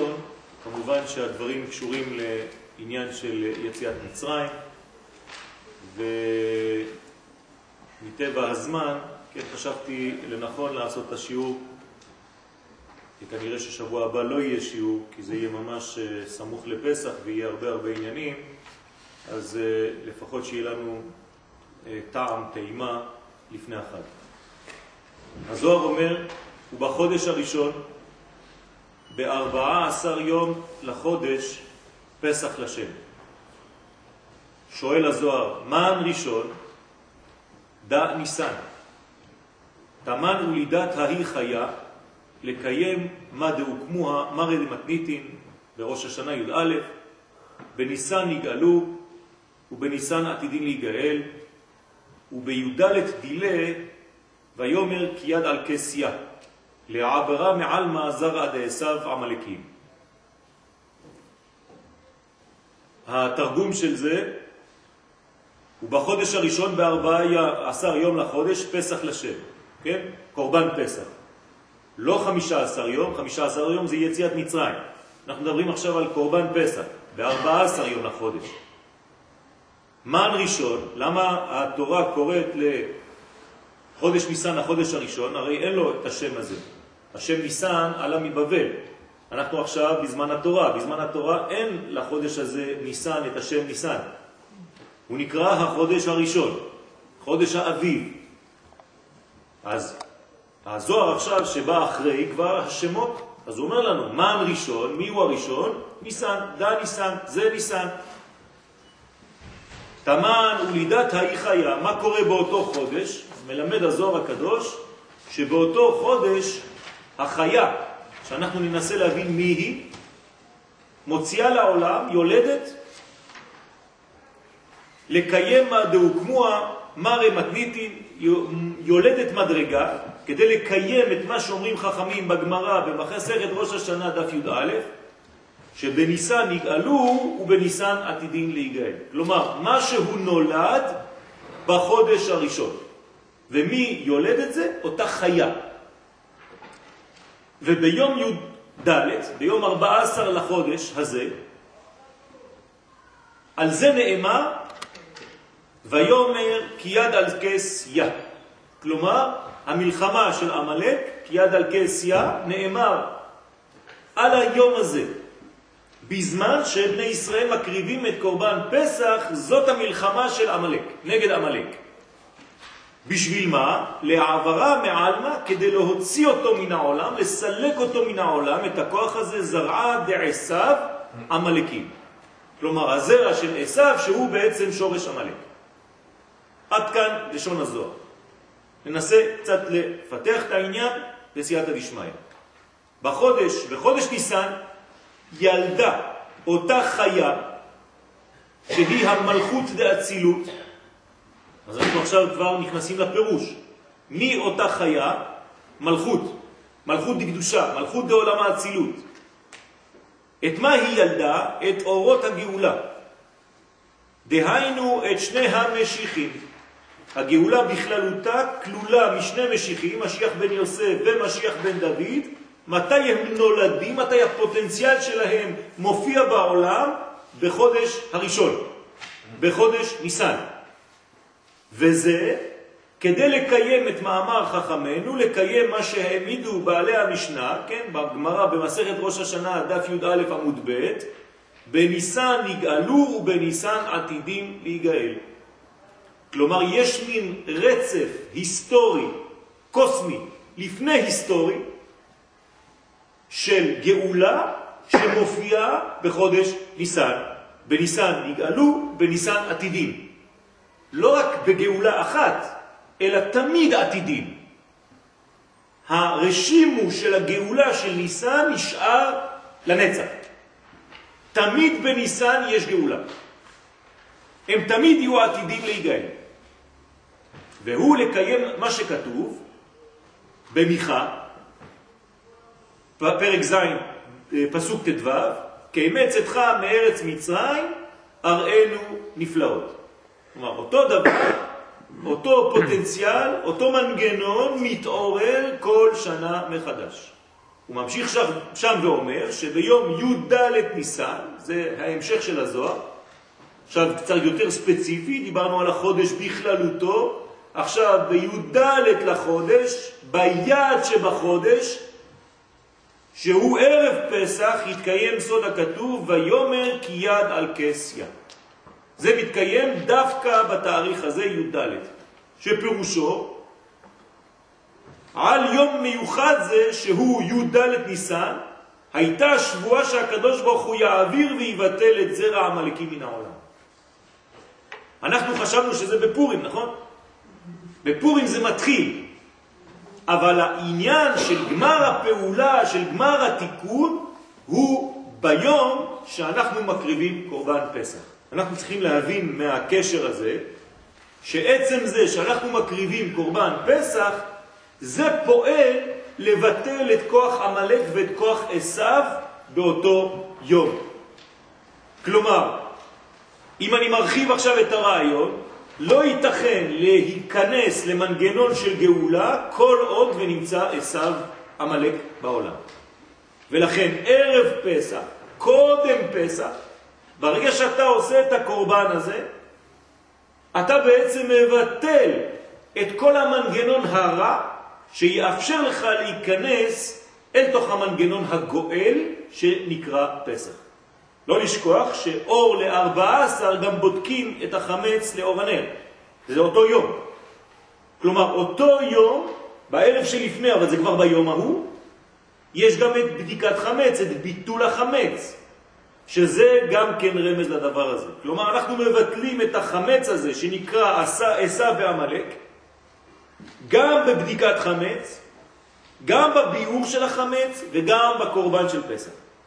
הראשון, כמובן שהדברים קשורים לעניין של יציאת מצרים, ומטבע הזמן, כן, חשבתי לנכון לעשות את השיעור, וכנראה ששבוע הבא לא יהיה שיעור, כי זה יהיה ממש סמוך לפסח ויהיה הרבה עניינים, אז לפחות שיהיה לנו טעם, טעימה לפני החג. הזוהר אומר, ובחודש הראשון, ב14 יום לחודש, פסח לשם. שואל הזוהר, מן ראשון? דא ניסן. תמן ולידת ההיא חיה, לקיים מה דהוקמוה מרא דמתניתין, בראש השנה י"א, בניסן נגאלו, ובניסן עתידין להיגאל, ובי"ד דילה, ויאמר כי יד על כסיה, לעברה מעלמא זרע דעשיו עמלקים. התרגום של זה, ובחודש הראשון ב14 יום לחודש, פסח לשם, כן? קורבן פסח. לא 15 יום, 15 יום זה יציאת מצרים. אנחנו מדברים עכשיו על קורבן פסח, ב14 יום לחודש. מן ראשון, למה התורה קוראת לחודש ניסן החודש הראשון? הרי אין לו את השם הזה. השם ניסן עלה מבבל. אנחנו עכשיו בזמן התורה. בזמן התורה אין לחודש הזה ניסן את השם ניסן. הוא נקרא החודש הראשון, חודש האביב. אז הזוהר עכשיו שבא אחרי כבר השמות, אז הוא אומר לנו, מן ראשון, מי הוא הראשון? ניסן, דא ניסן, זה ניסן. תמן ולידת ההיא חיה, מה קורה באותו חודש? מלמד הזוהר הקדוש שבאותו חודש החיה, שאנחנו ננסה להבין מי היא, מוציאה לעולם, יולדת, לקיים מה דהוקמוה מרא מתניתין, יולדת מדרגה, כדי לקיים את מה שאומרים חכמים בגמרא במסכת ראש השנה דף י"א, שבניסן נגאלו ובניסן עתידין להיגאל. כלומר, מה שהוא נולד בחודש הראשון. ומי יולד את זה? אותה חיה. וביום י"ד, ביום 14 לחודש הזה, על זה נאמר, ויאמר כי יד על כסיה. כלומר, המלחמה של עמלק, כי יד על כסיה, נאמר על היום הזה. בזמן שבני ישראל מקריבים את קורבן פסח, זאת המלחמה של עמלק, נגד עמלק. בשביל מה? להעברה מעלמה, כדי להוציא אותו מן העולם, לסלק אותו מן העולם, את הכוח הזה זרעה דעשיו עמלקים. כלומר, הזרע של עשיו שהוא בעצם שורש עמלק. עד כאן לשון הזוהר. ננסה קצת לפתח את העניין בסייעתא דשמיא. בחודש ניסן ילדה אותה חיה שהיא המלכות דאצילות. אז אנחנו עכשיו כבר נכנסים לפירוש. מי אותה חיה? מלכות. מלכות דקדושה, מלכות דעולם האצילות. את מה היא ילדה? את אורות הגאולה. דהיינו את שני המשיחים. הגאולה בכללותה כלולה משני משיחים, משיח בן יוסף ומשיח בן דוד. מתי הם נולדים? מתי הפוטנציאל שלהם מופיע בעולם? בחודש הראשון, בחודש ניסן. וזה כדי לקיים את מאמר חכמנו, לקיים מה שהעמידו בעלי המשנה, כן, בגמרא במסכת ראש השנה דף י"א עמוד ב', בניסן נגאלו ובניסן עתידים להיגאל. כלומר, יש מין רצף היסטורי, קוסמי, לפני היסטורי, של גאולה שמופיעה בחודש ניסן. בניסן נגאלו, בניסן עתידים. לא רק בגאולה אחת, אלא תמיד עתידים. הרשימו של הגאולה של ניסן נשאר לנצח. תמיד בניסן יש גאולה. הם תמיד יהיו עתידים להיגאל. והוא לקיים מה שכתוב במיכה, פרק ז' פסוק ט"ו, כאמץ אתך מארץ מצרים אראנו נפלאות. כלומר, אותו דבר, אותו פוטנציאל, אותו מנגנון מתעורר כל שנה מחדש. הוא ממשיך שם ואומר שביום י"ד ניסן, זה ההמשך של הזוהר, עכשיו קצת יותר ספציפי, דיברנו על החודש בכללותו, עכשיו בי"ד לחודש, ביעד שבחודש, שהוא ערב פסח, יתקיים סוד הכתוב, ויאמר כי יד על כסיה. זה מתקיים דווקא בתאריך הזה י"ד, שפירושו, על יום מיוחד זה שהוא י"ד ניסן, הייתה שבועה שהקדוש ברוך הוא יעביר ויבטל את זרע העמלקים מן העולם. אנחנו חשבנו שזה בפורים, נכון? בפורים זה מתחיל, אבל העניין של גמר הפעולה, של גמר התיקון, הוא ביום שאנחנו מקריבים קורבן פסח. אנחנו צריכים להבין מהקשר הזה, שעצם זה שאנחנו מקריבים קורבן פסח, זה פועל לבטל את כוח עמלק ואת כוח עשיו באותו יום. כלומר, אם אני מרחיב עכשיו את הרעיון, לא ייתכן להיכנס למנגנון של גאולה כל עוד ונמצא עשיו עמלק בעולם. ולכן ערב פסח, קודם פסח, ברגע שאתה עושה את הקורבן הזה, אתה בעצם מבטל את כל המנגנון הרע שיאפשר לך להיכנס אל תוך המנגנון הגואל שנקרא פסח. לא לשכוח שאור ל-14 גם בודקים את החמץ לאור הנר. זה אותו יום. כלומר, אותו יום, בערב שלפני, אבל זה כבר ביום ההוא, יש גם את בדיקת חמץ, את ביטול החמץ, שזה גם כן רמז לדבר הזה. כלומר, אנחנו מבטלים את החמץ הזה שנקרא עשיו ועמלק, גם בבדיקת חמץ, גם בביאור של החמץ וגם בקורבן של פסח.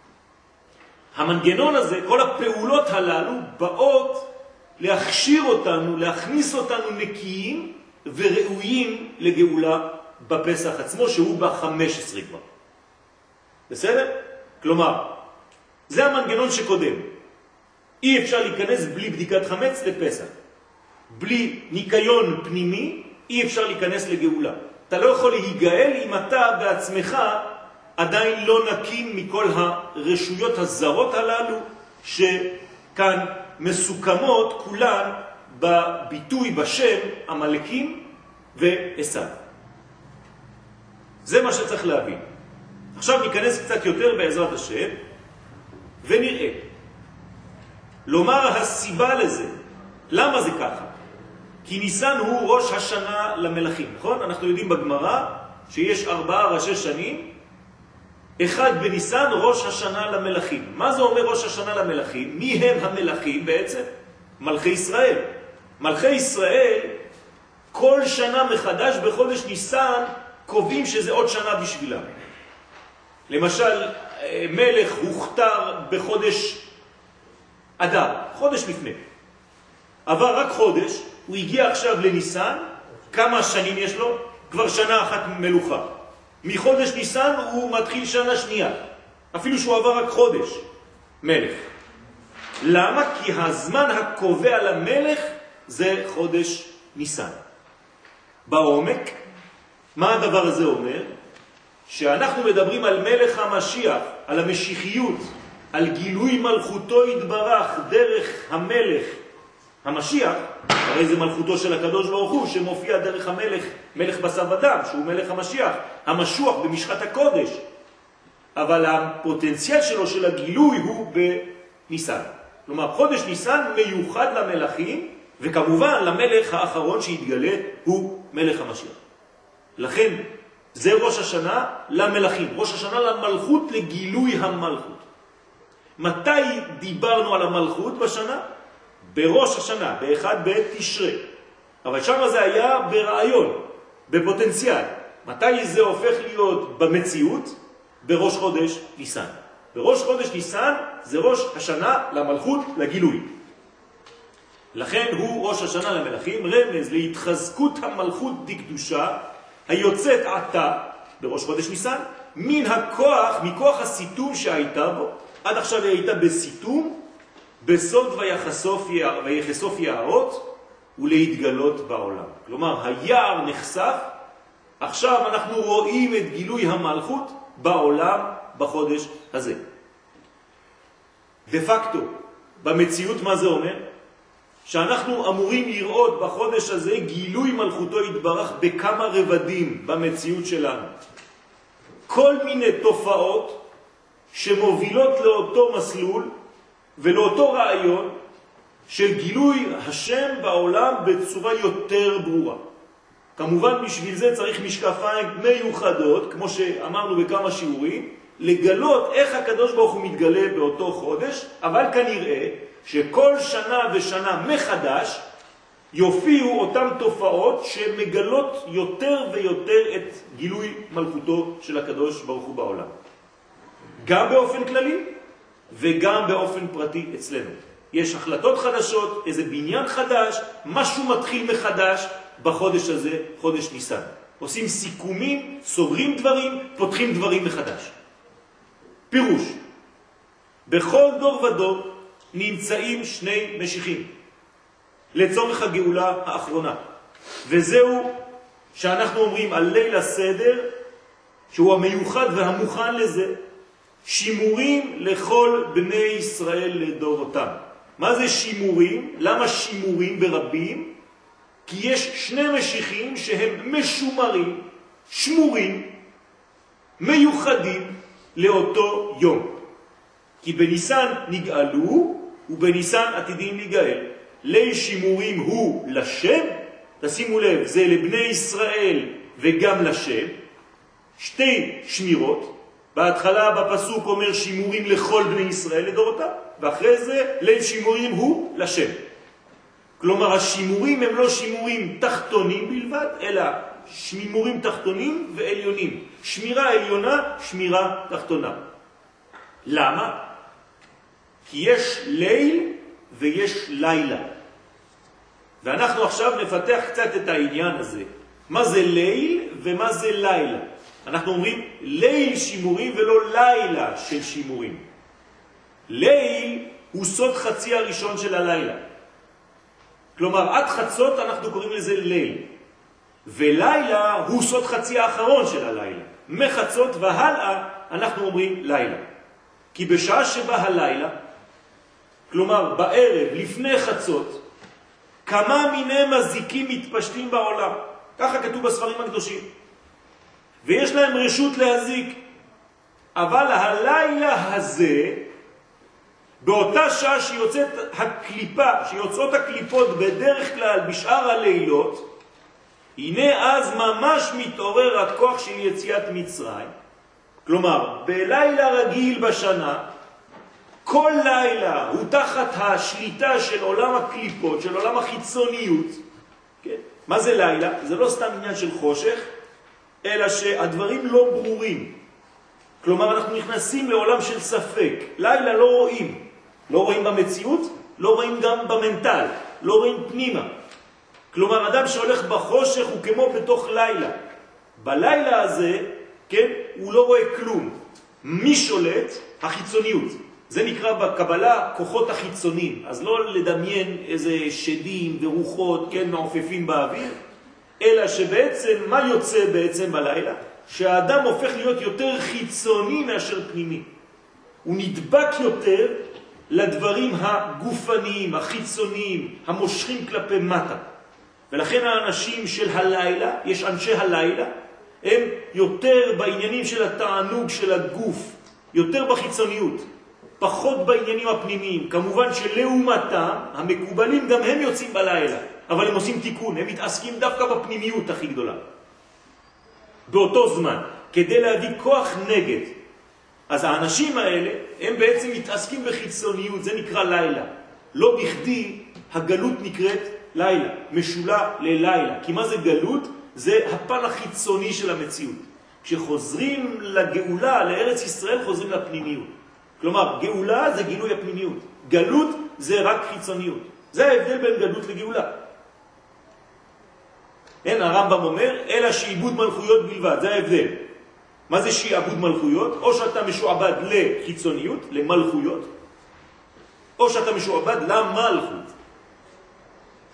המנגנון הזה, כל הפעולות הללו באות להכשיר אותנו, להכניס אותנו נקיים וראויים לגאולה בפסח עצמו, שהוא ב-15 כבר. בסדר? כלומר, זה המנגנון שקודם. אי אפשר להיכנס בלי בדיקת חמץ לפסח. בלי ניקיון פנימי, אי אפשר להיכנס לגאולה. אתה לא יכול להיגאל אם אתה בעצמך עדיין לא נקים מכל הרשויות הזרות הללו שכאן מסוכמות כולן בביטוי בשם עמלקים ועשיו. זה מה שצריך להבין. עכשיו ניכנס קצת יותר בעזרת השם ונראה. לומר הסיבה לזה, למה זה ככה? כי ניסן הוא ראש השנה למלכים, נכון? אנחנו יודעים בגמרא שיש 4 ראשי שנים, אחד בניסן ראש השנה למלכים. מה זה אומר ראש השנה למלכים? מי הם המלכים בעצם? מלכי ישראל. מלכי ישראל כל שנה מחדש בחודש ניסן קובעים שזה עוד שנה בשבילם. למשל, מלך הוכתר בחודש אדר, חודש לפני. עבר רק חודש, הוא הגיע עכשיו לניסן, כמה שנים יש לו? כבר שנה אחת מלוכה. מחודש ניסן הוא מתחיל שנה שנייה, אפילו שהוא עבר רק חודש מלך. למה? כי הזמן הקובע למלך זה חודש ניסן. בעומק, מה הדבר הזה אומר? שאנחנו מדברים על מלך המשיח, על המשיחיות, על גילוי מלכותו יתברך דרך המלך המשיח, הרי זה מלכותו של הקדוש ברוך הוא שמופיע דרך המלך, מלך בשר ודם, שהוא מלך המשיח, המשוח במשחת הקודש. אבל הפוטנציאל שלו של הגילוי הוא בניסן. כלומר, חודש ניסן מיוחד למלכים, וכמובן למלך האחרון שהתגלה הוא מלך המשיח. לכן זה ראש השנה למלכים, ראש השנה למלכות, לגילוי המלכות. מתי דיברנו על המלכות בשנה? בראש השנה, באחד בתשרי. אבל שם זה היה ברעיון, בפוטנציאל. מתי זה הופך להיות במציאות? בראש חודש ניסן. בראש חודש ניסן זה ראש השנה למלכות, לגילוי. לכן הוא ראש השנה למלכים, רמז להתחזקות המלכות דקדושה, היוצאת עתה בראש חודש ניסן, מן הכוח, מכוח הסיתום שהייתה בו, עד עכשיו היא הייתה בסיתום, בסוד ויחשוף יערות ולהתגלות בעולם. כלומר, היער נחשף, עכשיו אנחנו רואים את גילוי המלכות, בעולם בחודש הזה. דה פקטו, במציאות מה זה אומר? שאנחנו אמורים לראות בחודש הזה גילוי מלכותו יתברך בכמה רבדים במציאות שלנו. כל מיני תופעות שמובילות לאותו מסלול ולאותו רעיון של גילוי השם בעולם בצורה יותר ברורה. כמובן בשביל זה צריך משקפיים מיוחדות, כמו שאמרנו בכמה שיעורים, לגלות איך הקדוש ברוך הוא מתגלה באותו חודש, אבל כנראה שכל שנה ושנה מחדש יופיעו אותם תופעות שמגלות יותר ויותר את גילוי מלכותו של הקדוש ברוך הוא בעולם. גם באופן כללי וגם באופן פרטי אצלנו. יש החלטות חדשות, איזה בניין חדש, משהו מתחיל מחדש בחודש הזה, חודש ניסן. עושים סיכומים, סוגרים דברים, פותחים דברים מחדש. פירוש, בכל דור ודור נמצאים שני משיחים לצורך הגאולה האחרונה. וזהו שאנחנו אומרים על ליל הסדר, שהוא המיוחד והמוכן לזה, שימורים לכל בני ישראל לדורותם. מה זה שימורים? למה שימורים ברבים? כי יש שני משיחים שהם משומרים, שמורים, מיוחדים לאותו יום. כי בניסן נגאלו ובניסן עתידים להיגאל. ליל שימורים הוא לשם, תשימו לב, זה לבני ישראל וגם לשם, שתי שמירות. בהתחלה בפסוק אומר שימורים לכל בני ישראל לדורותם, ואחרי זה ליל שימורים הוא לשם. כלומר השימורים הם לא שימורים תחתונים בלבד, אלא שימורים תחתונים ועליונים. שמירה עליונה, שמירה תחתונה. למה? כי יש ליל ויש לילה. ואנחנו עכשיו נפתח קצת את העניין הזה. מה זה ליל ומה זה לילה? אנחנו אומרים ליל שימורים ולא לילה של שימורים. ליל הוא סוד חצי הראשון של הלילה. כלומר, עד חצות אנחנו קוראים לזה ליל. ולילה הוא סוד חצי האחרון של הלילה. מחצות והלאה אנחנו אומרים לילה. כי בשעה שבא הלילה, כלומר בערב לפני חצות, כמה מיני מזיקים מתפשטים בעולם. ככה כתוב בספרים הקדושים. ויש להם רשות להזיק. אבל הלילה הזה, באותה שעה שיוצאת הקליפה, שיוצאות הקליפות בדרך כלל בשאר הלילות, הנה אז ממש מתעורר הכוח של יציאת מצרים. כלומר, בלילה רגיל בשנה, כל לילה הוא תחת השליטה של עולם הקליפות, של עולם החיצוניות. כן? מה זה לילה? זה לא סתם עניין של חושך, אלא שהדברים לא ברורים. כלומר, אנחנו נכנסים לעולם של ספק. לילה לא רואים. לא רואים במציאות, לא רואים גם במנטל, לא רואים פנימה. כלומר, אדם שהולך בחושך הוא כמו בתוך לילה. בלילה הזה, כן, הוא לא רואה כלום. מי שולט? החיצוניות. זה נקרא בקבלה כוחות החיצונים. אז לא לדמיין איזה שדים ורוחות, כן, מעופפים באוויר, אלא שבעצם, מה יוצא בעצם בלילה? שהאדם הופך להיות יותר חיצוני מאשר פנימי. הוא נדבק יותר לדברים הגופניים, החיצוניים, המושכים כלפי מטה. ולכן האנשים של הלילה, יש אנשי הלילה, הם יותר בעניינים של התענוג של הגוף, יותר בחיצוניות, פחות בעניינים הפנימיים. כמובן שלעומתם, המקובלים גם הם יוצאים בלילה, אבל הם עושים תיקון, הם מתעסקים דווקא בפנימיות הכי גדולה. באותו זמן, כדי להביא כוח נגד. אז האנשים האלה, הם בעצם מתעסקים בחיצוניות, זה נקרא לילה. לא בכדי הגלות נקראת לילה, משולה ללילה. כי מה זה גלות? זה הפן החיצוני של המציאות. כשחוזרים לגאולה, לארץ ישראל, חוזרים לפנימיות. כלומר, גאולה זה גילוי הפנימיות. גלות זה רק חיצוניות. זה ההבדל בין גלות לגאולה. אין, הרמב"ם אומר, אלא שעיבוד מלכויות בלבד, זה ההבדל. מה זה שעבוד מלכויות? או שאתה משועבד לחיצוניות, למלכויות, או שאתה משועבד למלכות.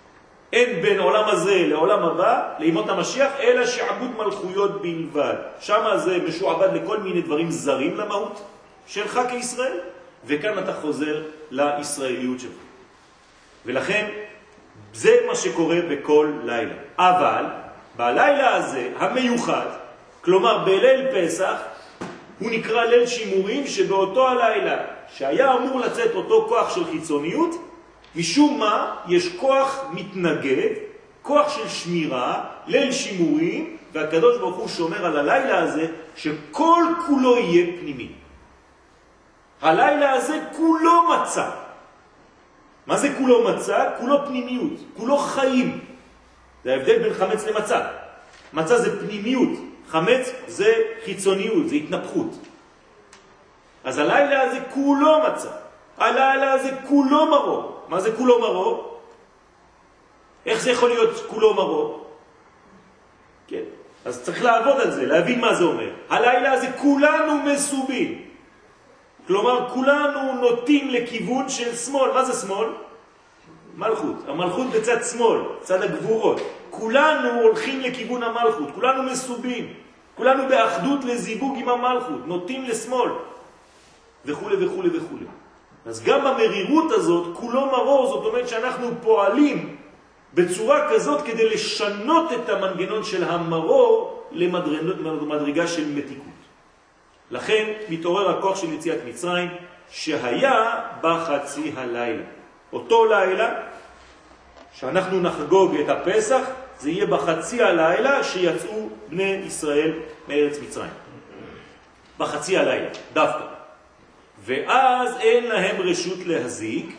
אין בין עולם הזה לעולם הבא, לימות המשיח, אלא שעבוד מלכויות בלבד. שם זה משועבד לכל מיני דברים זרים למהות שלך כישראל, וכאן אתה חוזר לישראליות שלך. ולכן זה מה שקורה בכל לילה. אבל בלילה הזה המיוחד, כלומר בליל פסח, הוא נקרא ליל שימורים, שבאותו הלילה שהיה אמור לצאת אותו כוח של חיצוניות, משום מה יש כוח מתנגד, כוח של שמירה, ליל שימורים, והקדוש ברוך הוא שומר על הלילה הזה שכל כולו יהיה פנימי. הלילה הזה כולו מצא. מה זה כולו מצא? כולו פנימיות, כולו חיים. זה ההבדל בין חמץ למצא. מצא זה פנימיות, חמץ זה חיצוניות, זה התנפחות. אז הלילה הזה כולו מצא. הלילה הזה כולו מרור. מה זה כולו מרור? איך זה יכול להיות כולו מרור? כן. אז צריך לעבוד על זה, להבין מה זה אומר. הלילה הזה כולנו מסובים. כלומר, כולנו נוטים לכיוון של שמאל. מה זה שמאל? מלכות. המלכות בצד שמאל, צד הגבורות. כולנו הולכים לכיוון המלכות. כולנו מסובים. כולנו באחדות לזיווג עם המלכות. נוטים לשמאל. וכו' וכו' וכו'. אז גם המרירות הזאת, כולו מרור, זאת אומרת שאנחנו פועלים בצורה כזאת כדי לשנות את המנגנון של המרור למדרגה של מתיקות. לכן מתעורר הכוח של יציאת מצרים שהיה בחצי הלילה. אותו לילה שאנחנו נחגוג את הפסח, זה יהיה בחצי הלילה שיצאו בני ישראל מארץ מצרים. בחצי הלילה, דווקא. ואז אין להם רשות להזיק,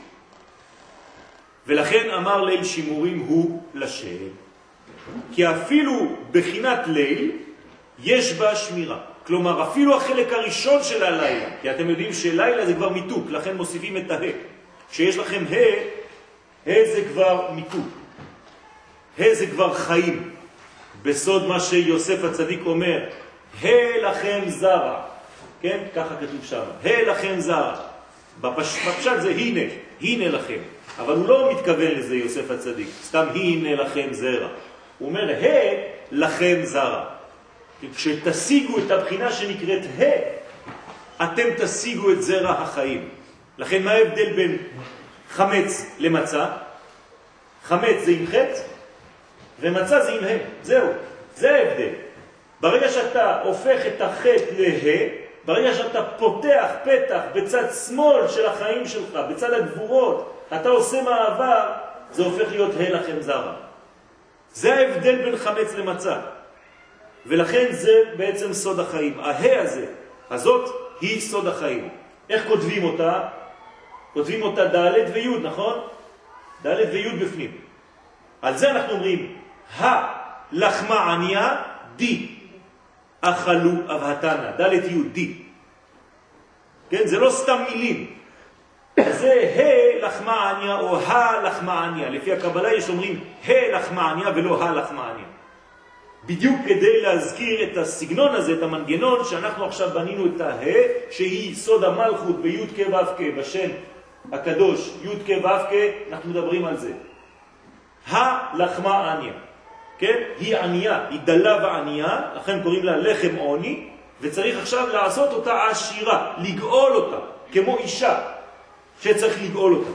ולכן אמר ליל שימורים הוא לשם. כי אפילו בחינת ליל יש בה שמירה. כלומר, אפילו החלק הראשון של הלילה, כי אתם יודעים שלילה זה כבר מיתוק, לכן מוסיפים את הה. כשיש לכם הה זה כבר מיתוק. הה זה כבר חיים. בסוד מה שיוסף הצדיק אומר, הה לכם זרע. כן? ככה כתוב שם. הה לכם זרע. בפשט זה הנה, הנה לכם. אבל הוא לא מתכוון לזה יוסף הצדיק. סתם הנה לכם זרע. הוא אומר, הה לכם זרע. כשתשיגו את הבחינה שנקראת אתם תשיגו את זרע החיים. לכן מה ההבדל בין חמץ למצה? חמץ זה עם חץ, ומצה זה עם זהו, זה ההבדל. ברגע שאתה הופך את החץ ברגע שאתה פותח פתח בצד שמאל של החיים שלך, בצד הגבורות, אתה עושה מעבר, זה הופך להיות לכם זרע. זה ההבדל בין חמץ למצה. ולכן זה בעצם סוד החיים. הזה, הזאת היא סוד החיים. איך כותבים אותה? כותבים אותה ד' וי', נכון? ד' וי' בפנים. על זה אנחנו אומרים, לחמה עניה, די. אכלו אבהתנה, ד' י', די. כן? זה לא סתם מילים. זה לחמה עניה או לחמה עניה. לפי הקבלה יש אומרים לחמה עניה ולא לחמה עניה. בדיוק כדי להזכיר את הסגנון הזה, את המנגנון שאנחנו עכשיו בנינו את שהיא סוד המלכות בי' כ' ו' כ' בשם הקדוש י' כ' ו' כ', אנחנו מדברים על זה. לחמה עניה. כן? היא ענייה, היא דלה וענייה, לכן קוראים לה לחם עוני, וצריך עכשיו לעשות אותה עשירה, לגאול אותה, כמו אישה שצריך לגאול אותה.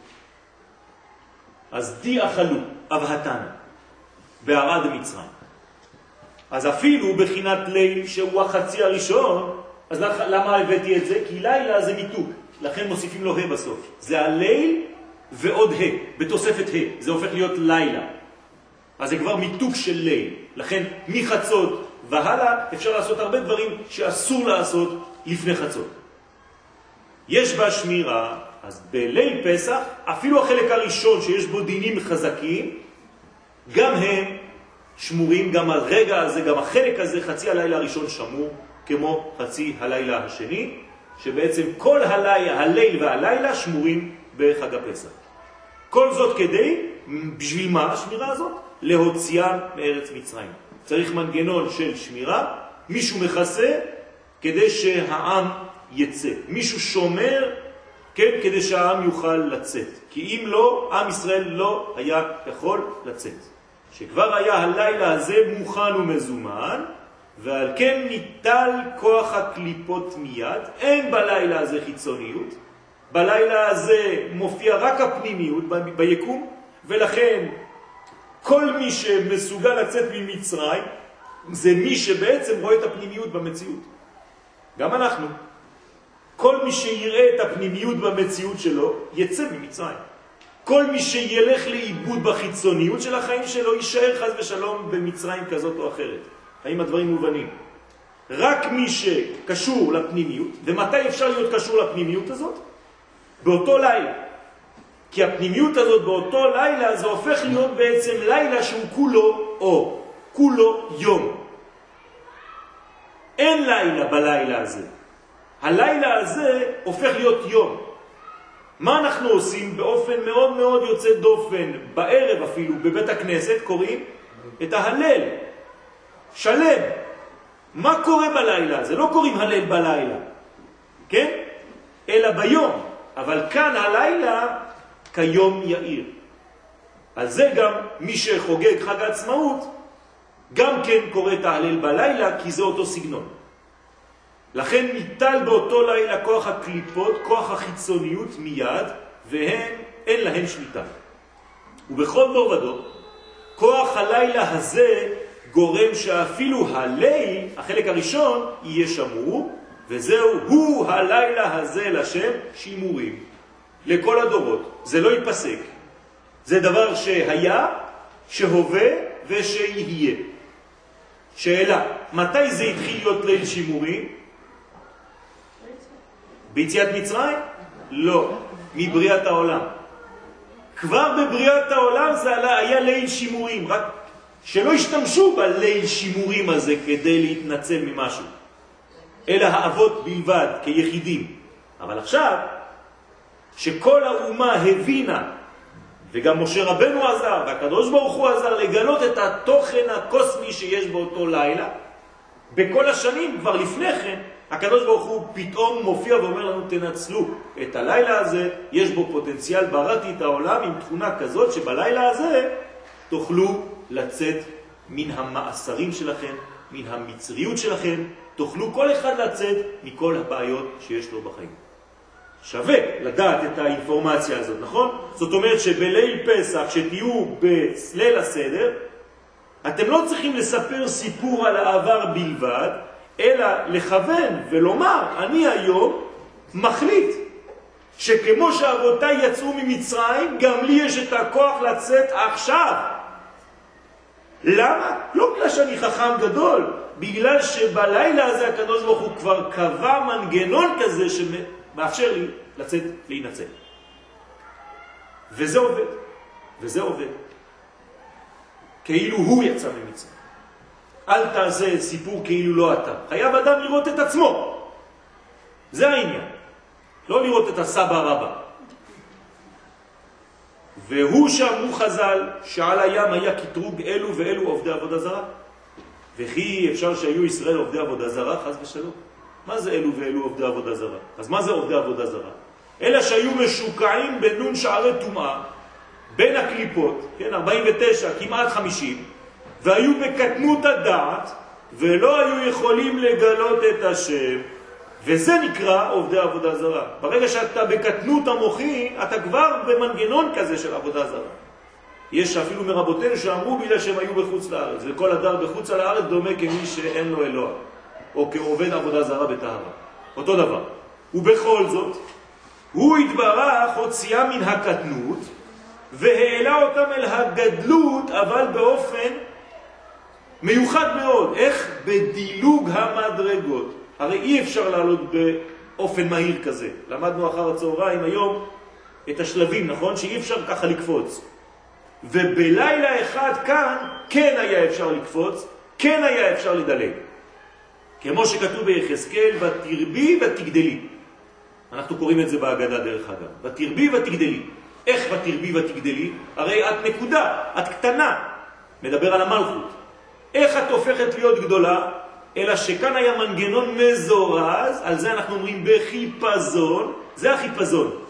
אז די אכלו אבהתנה בערד מצרים. אז אפילו בחינת ליל שהוא החצי הראשון, אז למה הבאתי את זה? כי לילה זה מיתוק, לכן מוסיפים לו בסוף. זה הליל ועוד בתוספת זה הופך להיות לילה. אז זה כבר מיתוק של ליל. לכן מחצות והלאה אפשר לעשות הרבה דברים שאסור לעשות לפני חצות. יש בה שמירה, אז בליל פסח, אפילו החלק הראשון שיש בו דינים חזקים, גם הם שמורים, גם הרגע הזה, גם החלק הזה, חצי הלילה הראשון שמור, כמו חצי הלילה השני, שבעצם כל הליל והלילה שמורים בחג הפסח. כל זאת כדי, בשביל מה השמירה הזאת? להוציאה מארץ מצרים. צריך מנגנון של שמירה, מישהו מכסה כדי שהעם יצא. מישהו שומר כן, כדי שהעם יוכל לצאת. כי אם לא, עם ישראל לא היה יכול לצאת. שכבר היה הלילה הזה מוכן ומזומן, ועל כן ניטל כוח הקליפות מיד. אין בלילה הזה חיצוניות. בלילה הזה מופיע רק הפנימיות ביקום, ולכן כל מי שמסוגל לצאת ממצרים, זה מי שבעצם רואה את הפנימיות במציאות. גם אנחנו. כל מי שיראה את הפנימיות במציאות שלו, יצא ממצרים. כל מי שילך לאיבוד בחיצוניות של החיים שלו, יישאר חס ושלום במצרים כזאת או אחרת. האם הדברים מובנים? רק מי שקשור לפנימיות, ומתי אפשר להיות קשור לפנימיות הזאת? באותו לילה. כי הפנימיות הזאת באותו לילה, זה הופך להיות בעצם לילה שהוא כולו אור, כולו יום. אין לילה בלילה הזה. הלילה הזה הופך להיות יום. מה אנחנו עושים באופן מאוד מאוד יוצא דופן, בערב אפילו, בבית הכנסת, קוראים את ההלל. שלם. מה קורה בלילה הזה? לא קוראים הלל בלילה, כן? אלא ביום. אבל כאן הלילה כיום יאיר. על זה גם מי שחוגג חג העצמאות, גם כן קורא את ההלל בלילה, כי זה אותו סגנון. לכן ניטל באותו לילה כוח הקליפות, כוח החיצוניות מיד, והן אין להן שליטה. ובכל דור ודור, כוח הלילה הזה גורם שאפילו הליל, החלק הראשון, יהיה שמור, וזהו, הוא הלילה הזה לשם שימורים. לכל הדורות. זה לא ייפסק. זה דבר שהיה, שהווה ושיהיה. שאלה, מתי זה התחיל להיות ליל שימורים? ביציאת מצרים? לא, מבריאת העולם. כבר בבריאת העולם זה היה ליל שימורים, רק שלא השתמשו בליל שימורים הזה כדי להתנצל ממשהו, אלא האבות בלבד כיחידים. אבל עכשיו, שכל האומה הבינה, וגם משה רבנו עזר, והקדוש ברוך הוא עזר לגלות את התוכן הקוסמי שיש באותו לילה, בכל השנים, כבר לפני כן, הקדוש ברוך הוא פתאום מופיע ואומר לנו, תנצלו את הלילה הזה, יש בו פוטנציאל, בראתי את העולם עם תכונה כזאת, שבלילה הזה תוכלו לצאת מן המאסרים שלכם, מן המצריות שלכם, תוכלו כל אחד לצאת מכל הבעיות שיש לו בחיים. שווה לדעת את האינפורמציה הזאת, נכון? זאת אומרת שבליל פסח, שתהיו בליל הסדר, אתם לא צריכים לספר סיפור על העבר בלבד, אלא לכוון ולומר, אני היום מחליט שכמו שאבותיי יצאו ממצרים, גם לי יש את הכוח לצאת עכשיו. למה? לא בגלל שאני חכם גדול, בגלל שבלילה הזה הקדוש ברוך הוא כבר קבע מנגנון כזה שמאפשר לי לצאת להינצל. וזה עובד. וזה עובד. כאילו הוא יצא ממצרים. אל תעשה סיפור כאילו לא אתה. חייב אדם לראות את עצמו. זה העניין. לא לראות את הסבא רבא. והוא שאמרו חז"ל שעל הים היה קטרוג אלו ואלו עובדי עבודה זרה. וכי אפשר שהיו ישראל עובדי עבודה זרה, חס ושלום. מה זה אלו ואלו עובדי עבודה זרה? אז מה זה עובדי עבודה זרה? אלה שהיו משוקעים בנון שערי טומאה, בין הקליפות, כן, 49, כמעט 50, והיו בקטנות הדעת, ולא היו יכולים לגלות את השם, וזה נקרא עובדי עבודה זרה. ברגע שאתה בקטנות המוחי, אתה כבר במנגנון כזה של עבודה זרה. יש אפילו מרבותינו שאמרו בגלל שהם היו בחוץ לארץ, וכל אדם בחוץ על הארץ דומה כמי שאין לו אלוה, או כעובד עבודה זרה בטהרה. אותו דבר. ובכל זאת, הוא התברך הוציאה מן הקטנות, והעלה אותם אל הגדלות, אבל באופן מיוחד מאוד. איך? בדילוג המדרגות. הרי אי אפשר לעלות באופן מהיר כזה. למדנו אחר הצהריים היום את השלבים, נכון? שאי אפשר ככה לקפוץ. ובלילה אחד כאן כן היה אפשר לקפוץ, כן היה אפשר לדלג. כמו שכתוב ביחזקאל, ותרבי ותגדלי. אנחנו קוראים את זה בהגדה דרך אגב. ותרבי ותגדלי. איך ותרבי ותגדלי? הרי את נקודה, את קטנה. מדבר על המלכות. איך את הופכת להיות גדולה? אלא שכאן היה מנגנון מזורז, על זה אנחנו אומרים בחיפזון. זה החיפזון.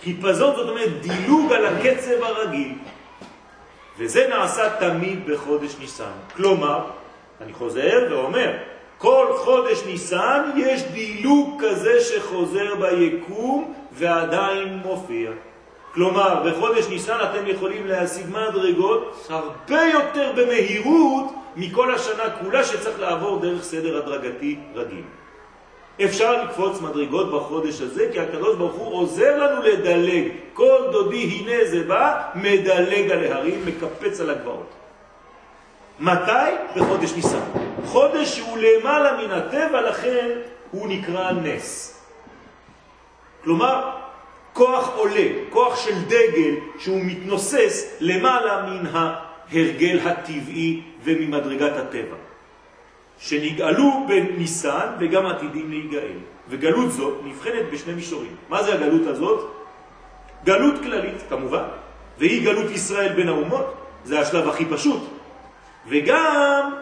חיפזון זאת אומרת דילוג על הקצב הרגיל. וזה נעשה תמיד בחודש ניסן. כלומר, אני חוזר ואומר, כל חודש ניסן יש דילוג כזה שחוזר ביקום ועדיין מופיע. כלומר, בחודש ניסן אתם יכולים להשיג מדרגות הרבה יותר במהירות מכל השנה כולה שצריך לעבור דרך סדר הדרגתי רגיל. אפשר לקפוץ מדרגות בחודש הזה כי הקדוש ברוך הוא עוזר לנו לדלג. כל דודי הנה זה בא, מדלג על ההרים, מקפץ על הגבעות. מתי? בחודש ניסן. חודש שהוא למעלה מן הטבע, לכן הוא נקרא נס. כלומר, כוח עולה, כוח של דגל שהוא מתנוסס למעלה מן ההרגל הטבעי וממדרגת הטבע. שנגאלו בניסן וגם עתידים להיגאל. וגלות זאת נבחנת בשני מישורים. מה זה הגלות הזאת? גלות כללית, כמובן, והיא גלות ישראל בין האומות, זה השלב הכי פשוט. וגם,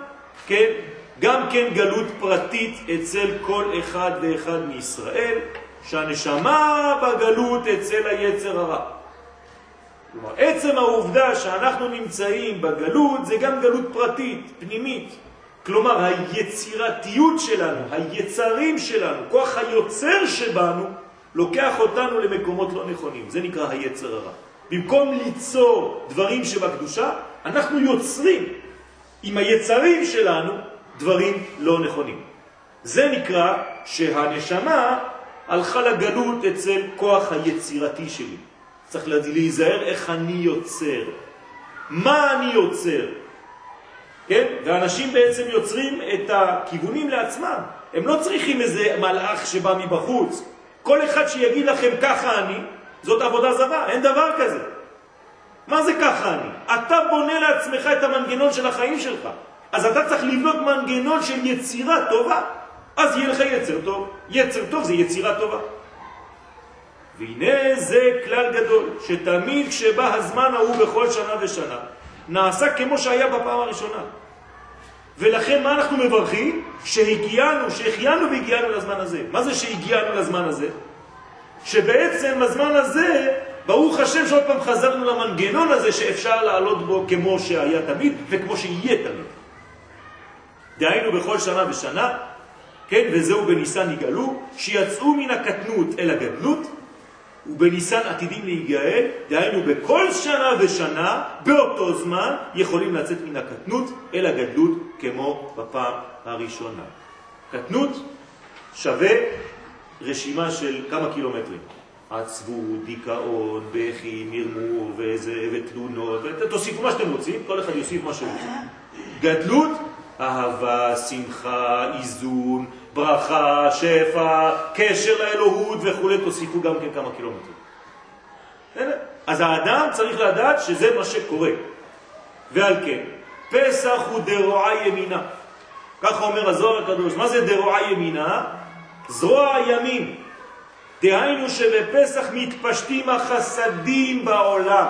גם גלות פרטית אצל כל אחד ואחד מישראל, שהנשמה בגלות אצל היצר הרע. כלומר, עצם העובדה שאנחנו נמצאים בגלות זה גם גלות פרטית, פנימית. כלומר, היצירתיות שלנו, היצרים שלנו, כוח היוצר שבנו, לוקח אותנו למקומות לא נכונים. זה נקרא היצר הרע. במקום ליצור דברים שבקדושה, אנחנו יוצרים עם היצרים שלנו דברים לא נכונים. זה נקרא שהנשמה הלכה לגלות אצל כוח היצירתי שלי. צריך להיזהר איך אני יוצר. מה אני יוצר? כן? ואנשים בעצם יוצרים את הכיוונים לעצמם. הם לא צריכים איזה מלאך שבא מבחוץ. כל אחד שיגיד לכם ככה אני, זאת עבודה זרה, אין דבר כזה. מה זה ככה אני? אתה בונה לעצמך את המנגנון של החיים שלך. אז אתה צריך לבנות מנגנון של יצירה טובה. אז יהיה לך יצר טוב. יצר טוב זה יצירה טובה. והנה זה כלל גדול, שתמיד כשבא הזמן ההוא בכל שנה ושנה, נעשה כמו שהיה בפעם הראשונה. ולכן מה אנחנו מברכים? שהחיינו והגיענו לזמן הזה. מה זה שהגיענו לזמן הזה? שבעצם הזמן הזה, ברוך השם שעוד פעם חזרנו למנגנון הזה שאפשר לעלות בו כמו שהיה תמיד וכמו שיהיה תמיד. דהיינו בכל שנה ושנה, כן, וזהו בניסן יגאלו, שיצאו מן הקטנות אל הגדלות, ובניסן עתידים להיגאל, דהיינו בכל שנה ושנה, באותו זמן, יכולים לצאת מן הקטנות אל הגדלות כמו בפעם הראשונה. קטנות שווה רשימה של כמה קילומטרים. עצבות, דיכאון, בכי, מרמור ותלונות, תוסיפו מה שאתם רוצים, כל אחד יוסיף מה שרוצים. גדלות, אהבה, שמחה, איזון, ברכה, שפע, קשר לאלוהות וכו', תוסיפו גם כן כמה קילומטרים. אז האדם צריך לדעת שזה מה שקורה. ועל כן, פסח הוא דרועה ימינה. ככה אומר הזוהר הקדוש. מה זה דרועה ימינה? זרוע ימין. דהיינו שבפסח מתפשטים החסדים בעולם.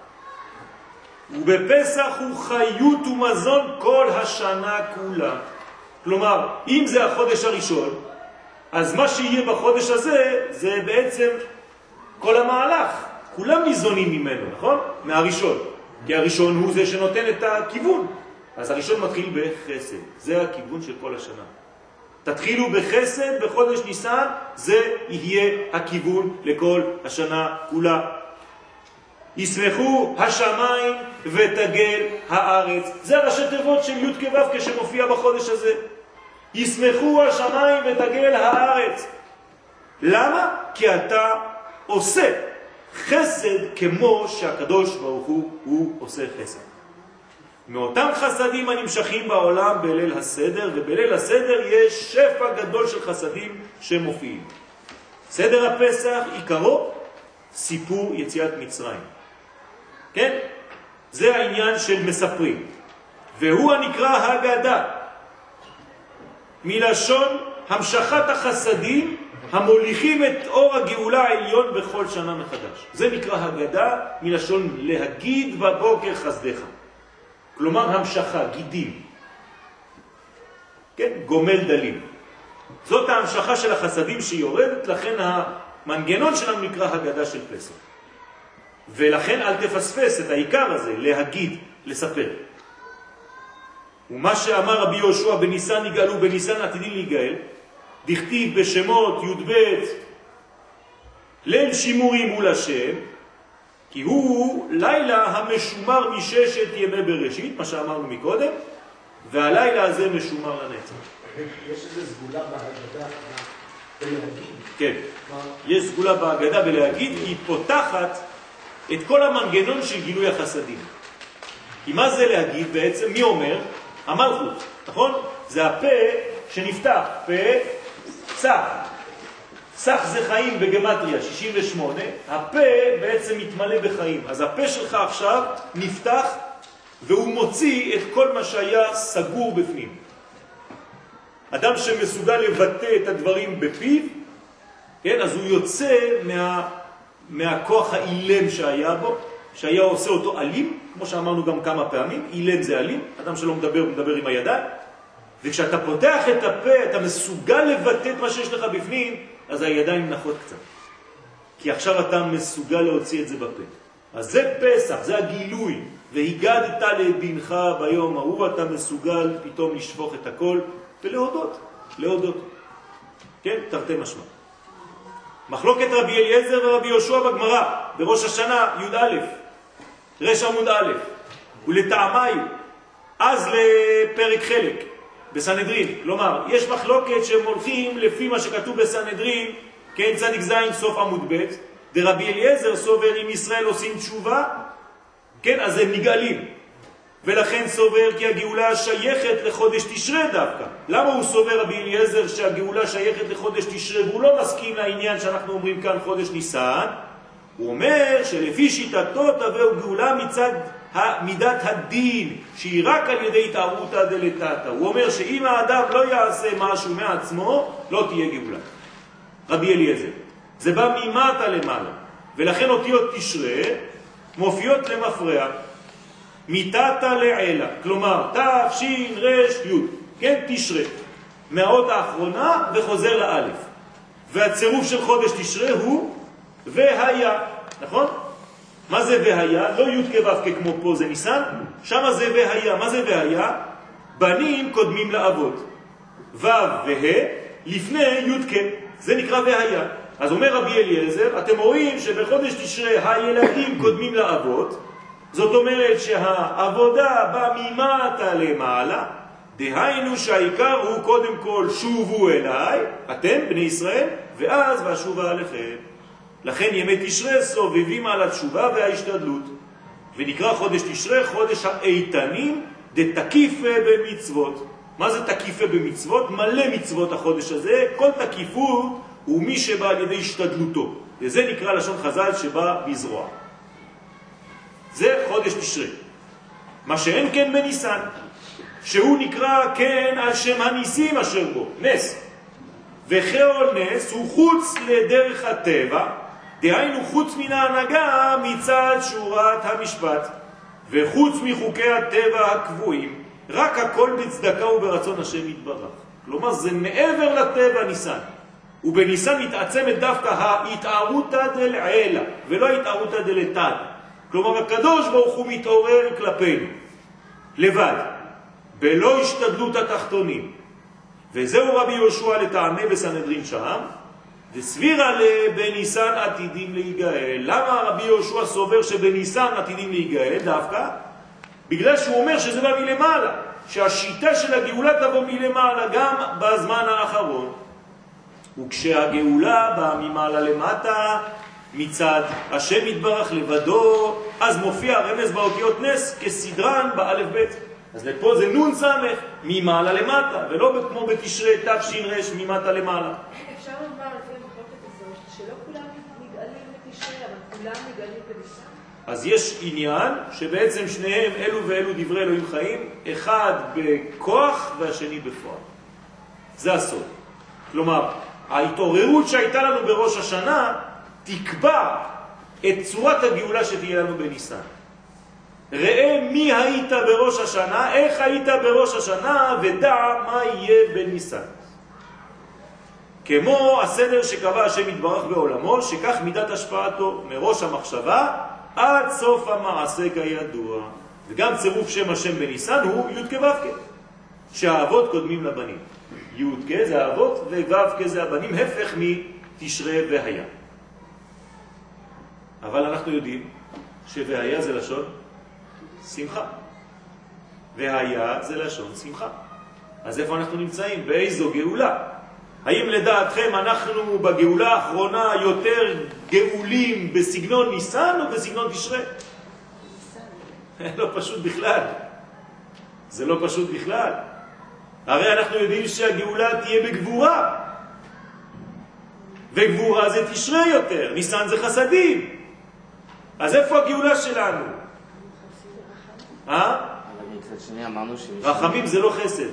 ובפסח הוא חיות ומזון כל השנה כולה. כלומר, אם זה החודש הראשון, אז מה שיהיה בחודש הזה, זה בעצם כל המהלך. כולם ניזונים ממנו, נכון? מהראשון. כי הראשון הוא זה שנותן את הכיוון. אז הראשון מתחיל בחסד. זה הכיוון של כל השנה. תתחילו בחסד בחודש ניסן, זה יהיה הכיוון לכל השנה כולה. ישמחו השמיים ותגל הארץ. זה ראשי תיבות של י' כו' כשמופיע בחודש הזה. ישמחו השמיים ותגל הארץ. למה? כי אתה עושה חסד כמו שהקדוש ברוך הוא עושה חסד. מאותם חסדים הנמשכים בעולם בליל הסדר, ובליל הסדר יש שפע גדול של חסדים שמופיעים. סדר הפסח עיקרו סיפור יציאת מצרים. כן? זה העניין של מספרים. והוא הנקרא הגדה. מלשון המשכת החסדים המוליכים את אור הגאולה העליון בכל שנה מחדש. זה נקרא הגדה מלשון להגיד בבוקר חסדך. כלומר המשכה, גידים. כן? גומל דלים. זאת ההמשכה של החסדים שיורדת, לכן המנגנון שלנו נקרא הגדה של פסח. ולכן אל תפספס את העיקר הזה, להגיד, לספר. ומה שאמר רבי יהושע, בניסן יגאלו, בניסן עתידים להיגאל, דכתיב בשמות י"ב, ליל שימורים מול השם, כי הוא לילה המשומר מששת ימי בראשית, מה שאמרנו מקודם, והלילה הזה משומר לנצח. יש איזו סגולה בהגדה בלהגיד. כן, יש סגולה בהגדה בלהגיד, היא פותחת את כל המנגנון של גילוי החסדים. כי מה זה להגיד בעצם? מי אומר? המלכות, נכון? זה הפה שנפתח, פה צח. צח זה חיים בגמטריה, 68. הפה בעצם מתמלא בחיים. אז הפה שלך עכשיו נפתח והוא מוציא את כל מה שהיה סגור בפנים. אדם שמסוגל לבטא את הדברים בפיו, כן, אז הוא יוצא מהכוח האילם שהיה בו, שהיה עושה אותו אלים, כמו שאמרנו גם כמה פעמים, אילם זה אלים, אדם שלא מדבר, הוא מדבר עם הידיים, וכשאתה פותח את הפה, אתה מסוגל לבטא את מה שיש לך בפנים, אז הידיים נחות קצת. כי עכשיו אתה מסוגל להוציא את זה בפה. אז זה פסח, זה הגילוי, והגדת לבנך ביום ההוא, אתה מסוגל פתאום לשפוך את הכל, ולהודות, להודות. כן, תרתי משמע. מחלוקת רבי אליעזר ורבי יהושע בגמרא, בראש השנה, י"א, רש עמוד א', ולטעמי, אז לפרק חלק, בסנהדרין. כלומר, יש מחלוקת שהם הולכים לפי מה שכתוב בסנהדרין, כן, צדיק זין, סוף עמוד ב', דרבי אליעזר סובר אם ישראל עושים תשובה, כן, אז הם נגאלים. ולכן סובר כי הגאולה שייכת לחודש תשרה דווקא. למה הוא סובר רבי אליעזר שהגאולה שייכת לחודש תשרה, והוא לא מסכים לעניין שאנחנו אומרים כאן חודש ניסן? הוא אומר שלפי שיטתו תבוא גאולה מצד מידת הדין, שהיא רק על ידי התערותא דלתתא. הוא אומר שאם האדם לא יעשה משהו מעצמו, לא תהיה גאולה. רבי אליעזר. זה בא ממטה למעלה. ולכן אותיות תשרה מופיעות למפרע. מתתא לעילה, כלומר תש"ר י', כן, תשרה, מהאות האחרונה וחוזר לאלף. והצירוף של חודש תשרה הוא והיה, נכון? מה זה והיה? לא י' כו' כמו פה זה ניסן, שם זה והיה. מה זה והיה? בנים קודמים לאבות. ו' וה' לפני י' כ', זה נקרא והיה. אז אומר רבי אליעזר, אתם רואים שבחודש תשרה הילדים קודמים לאבות, זאת אומרת שהעבודה באה ממטה למעלה, דהיינו שהעיקר הוא קודם כל שובו אליי, אתם בני ישראל, ואז והשובה עליכם. לכן ימי תשרה סובבים על התשובה וההשתדלות, ונקרא חודש תשרה חודש האיתנים דתקיפה במצוות. מה זה תקיפה במצוות? מלא מצוות החודש הזה, כל תקיפות הוא מי שבא על ידי השתדלותו, וזה נקרא לשון חז"ל שבא בזרוע. זה חודש תשרה. מה שאין כן בניסן, שהוא נקרא כן על שם הניסים אשר בו, נס. וכל נס הוא חוץ לדרך הטבע, דהיינו חוץ מן ההנהגה מצד שורת המשפט, וחוץ מחוקי הטבע הקבועים, רק הכל בצדקה וברצון השם יתברך. כלומר זה מעבר לטבע ניסן. ובניסן מתעצמת דווקא ההתערותא דלעילה, ולא ההתערותא דלתתא. כלומר, הקדוש ברוך הוא מתעורר כלפינו, לבד, בלא השתדלות התחתונים. וזהו רבי יהושע לטעמי בסנהדרין שם, וסבירה בניסן עתידים להיגאל. למה רבי יהושע סובר שבניסן עתידים להיגאל דווקא? בגלל שהוא אומר שזה בא מלמעלה, שהשיטה של הגאולה תבוא מלמעלה גם בזמן האחרון. וכשהגאולה באה ממעלה למטה, מצד השם יתברך לבדו, אז מופיע הרמז באותיות נס כסדרן באלף בית. אז לפה זה נון סמך ממעלה למטה, ולא כמו בתשרי תש"ר ממטה למעלה. אפשר לומר לפי המחלוקת הזאת שלא כולם נגאלים בתשרי, אבל כולם נגאלים בניסן. אז יש עניין שבעצם שניהם אלו ואלו דברי אלוהים חיים, אחד בכוח והשני בפועל. זה הסוד. כלומר, ההתעוררות שהייתה לנו בראש השנה תקבע את צורת הגאולה שתהיה לנו בניסן. ראה מי היית בראש השנה, איך היית בראש השנה, ודע מה יהיה בניסן. כמו הסדר שקבע השם יתברך בעולמו, שכך מידת השפעתו מראש המחשבה עד סוף המעשה כידוע. וגם צירוף שם השם בניסן הוא י' כו' שהאבות קודמים לבנים. י' זה האבות וו' זה הבנים, הפך מתשרה והיה. אבל אנחנו יודעים שווהיה זה לשון שמחה, והיה זה לשון שמחה. אז איפה אנחנו נמצאים? באיזו גאולה? האם לדעתכם אנחנו בגאולה האחרונה יותר גאולים בסגנון ניסן או בסגנון תשרה? לא פשוט בכלל. זה לא פשוט בכלל. הרי אנחנו יודעים שהגאולה תהיה בגבורה. וגבורה זה תשרה יותר, ניסן זה חסדים. אז איפה הגאולה שלנו? אבל מצד שני אמרנו רחמים זה לא חסד.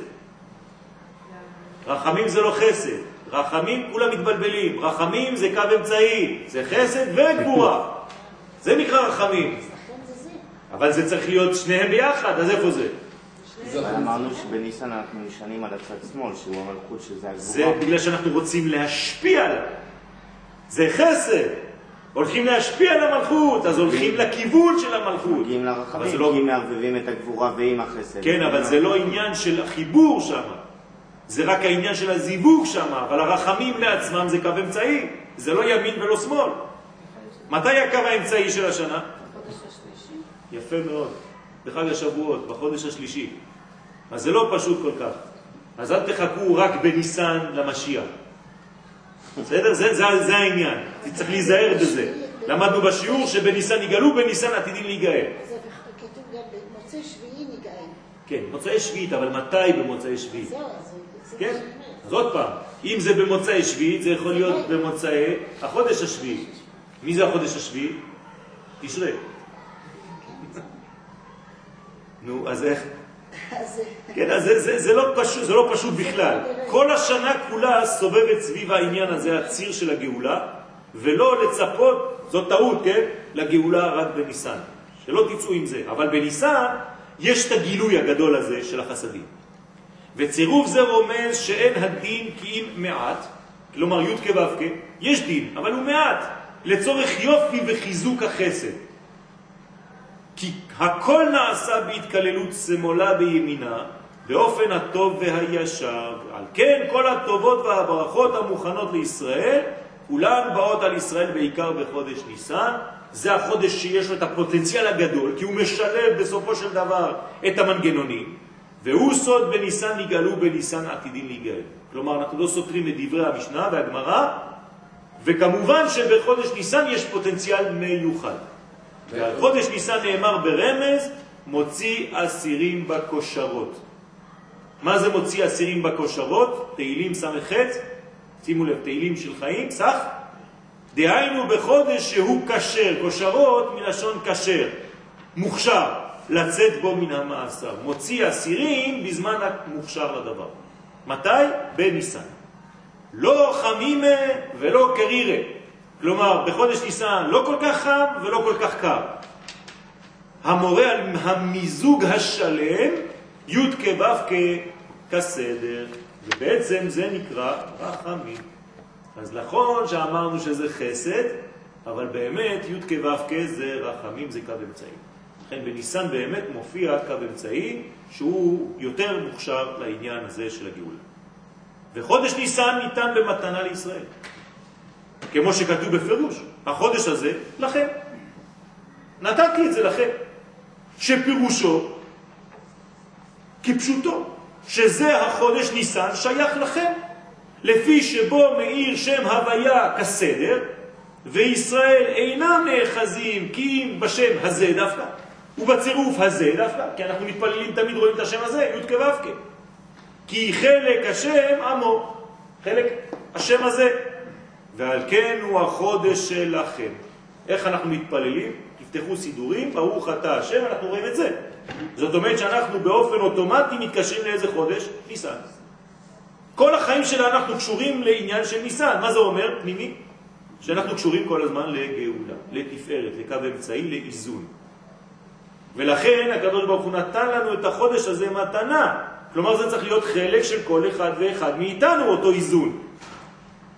רחמים זה לא חסד. רחמים כולם מתבלבלים. רחמים זה קו אמצעי. זה חסד וגבורה. זה נקרא רחמים. אבל זה צריך להיות שניהם ביחד, אז איפה זה? אבל אמרנו שבניסן אנחנו נשענים על הצד שמאל, שהוא המלכות שזה הגבורה. זה בגלל שאנחנו רוצים להשפיע עליו. זה חסד. הולכים להשפיע על המלכות, אז הולכים לכיוון של המלכות. מגיעים לרחמים, כי מערבבים את הגבורה ועם החסד. כן, אבל זה לא עניין של החיבור שם. זה רק העניין של הזיווג שם, אבל הרחמים לעצמם זה קו אמצעי. זה לא ימין ולא שמאל. מתי הקו האמצעי של השנה? בחודש השלישי. יפה מאוד. בחג השבועות, בחודש השלישי. אז זה לא פשוט כל כך. אז אל תחכו רק בניסן למשיח. בסדר? זה העניין. צריך להיזהר בזה. למדנו בשיעור שבניסן יגאלו, בניסן עתידים להיגאל. זה כתוב גם במוצאי שביעי ניגאל. כן, מוצאי שביעית, אבל מתי במוצאי שביעית? זהו, אז כן? אז עוד פעם, אם זה במוצאי שביעית, זה יכול להיות במוצאי החודש השביעי. מי זה החודש השביעי? תשרה. נו, אז איך? כן, אז זה לא פשוט בכלל. כל השנה כולה סובבת סביב העניין הזה, הציר של הגאולה, ולא לצפות, זאת טעות, כן? לגאולה רק בניסן. שלא תצאו עם זה. אבל בניסן יש את הגילוי הגדול הזה של החסדים. וצירוף זה רומז שאין הדין כי אם מעט, כלומר י' כו' יש דין, אבל הוא מעט, לצורך יופי וחיזוק החסד. כי הכל נעשה בהתקללות שמאלה בימינה, באופן הטוב והישר. על כן כל הטובות והברכות המוכנות לישראל, כולן באות על ישראל בעיקר בחודש ניסן. זה החודש שיש לו את הפוטנציאל הגדול, כי הוא משלב בסופו של דבר את המנגנונים, והוא סוד בניסן נגאלו, בניסן עתידין להיגאל. כלומר, אנחנו לא סותרים את דברי המשנה והגמרא, וכמובן שבחודש ניסן יש פוטנציאל מיוחד. ועל חודש ניסן נאמר ברמז, מוציא אסירים בקושרות. מה זה מוציא אסירים בקושרות? תהילים ס"ח, שימו לב, תהילים של חיים, סך. דהיינו בחודש שהוא קשר, קושרות מלשון קשר, מוכשר, לצאת בו מן המאסר. מוציא אסירים בזמן המוכשר לדבר. מתי? בניסן. לא חמימה ולא קרירה. כלומר, בחודש ניסן לא כל כך חם ולא כל כך קר. המורה על המיזוג השלם, י' כו' כסדר, ובעצם זה נקרא רחמים. אז נכון שאמרנו שזה חסד, אבל באמת י' כו' זה רחמים, זה קו אמצעי. לכן בניסן באמת מופיע קו אמצעי שהוא יותר מוכשר לעניין הזה של הגאולה. וחודש ניסן ניתן במתנה לישראל. כמו שכתוב בפירוש, החודש הזה לכם. נתתי את זה לכם. שפירושו כפשוטו, שזה החודש ניסן שייך לכם. לפי שבו מאיר שם הוויה כסדר, וישראל אינם נאחזים כי אם בשם הזה דווקא, ובצירוף הזה דווקא, כי אנחנו מתפללים תמיד רואים את השם הזה, י' כו' כי חלק השם עמו, חלק השם הזה, ועל כן הוא החודש שלכם. איך אנחנו מתפללים? תפתחו סידורים, ברוך אתה השם, אנחנו רואים את זה. זאת אומרת שאנחנו באופן אוטומטי מתקשרים לאיזה חודש? ניסן. כל החיים שלה אנחנו קשורים לעניין של ניסן. מה זה אומר, פנימי? שאנחנו קשורים כל הזמן לגאולה, לתפארת, לקו אמצעי, לאיזון. ולכן הקדוש ברוך הוא נתן לנו את החודש הזה מתנה. כלומר זה צריך להיות חלק של כל אחד ואחד מאיתנו, אותו איזון.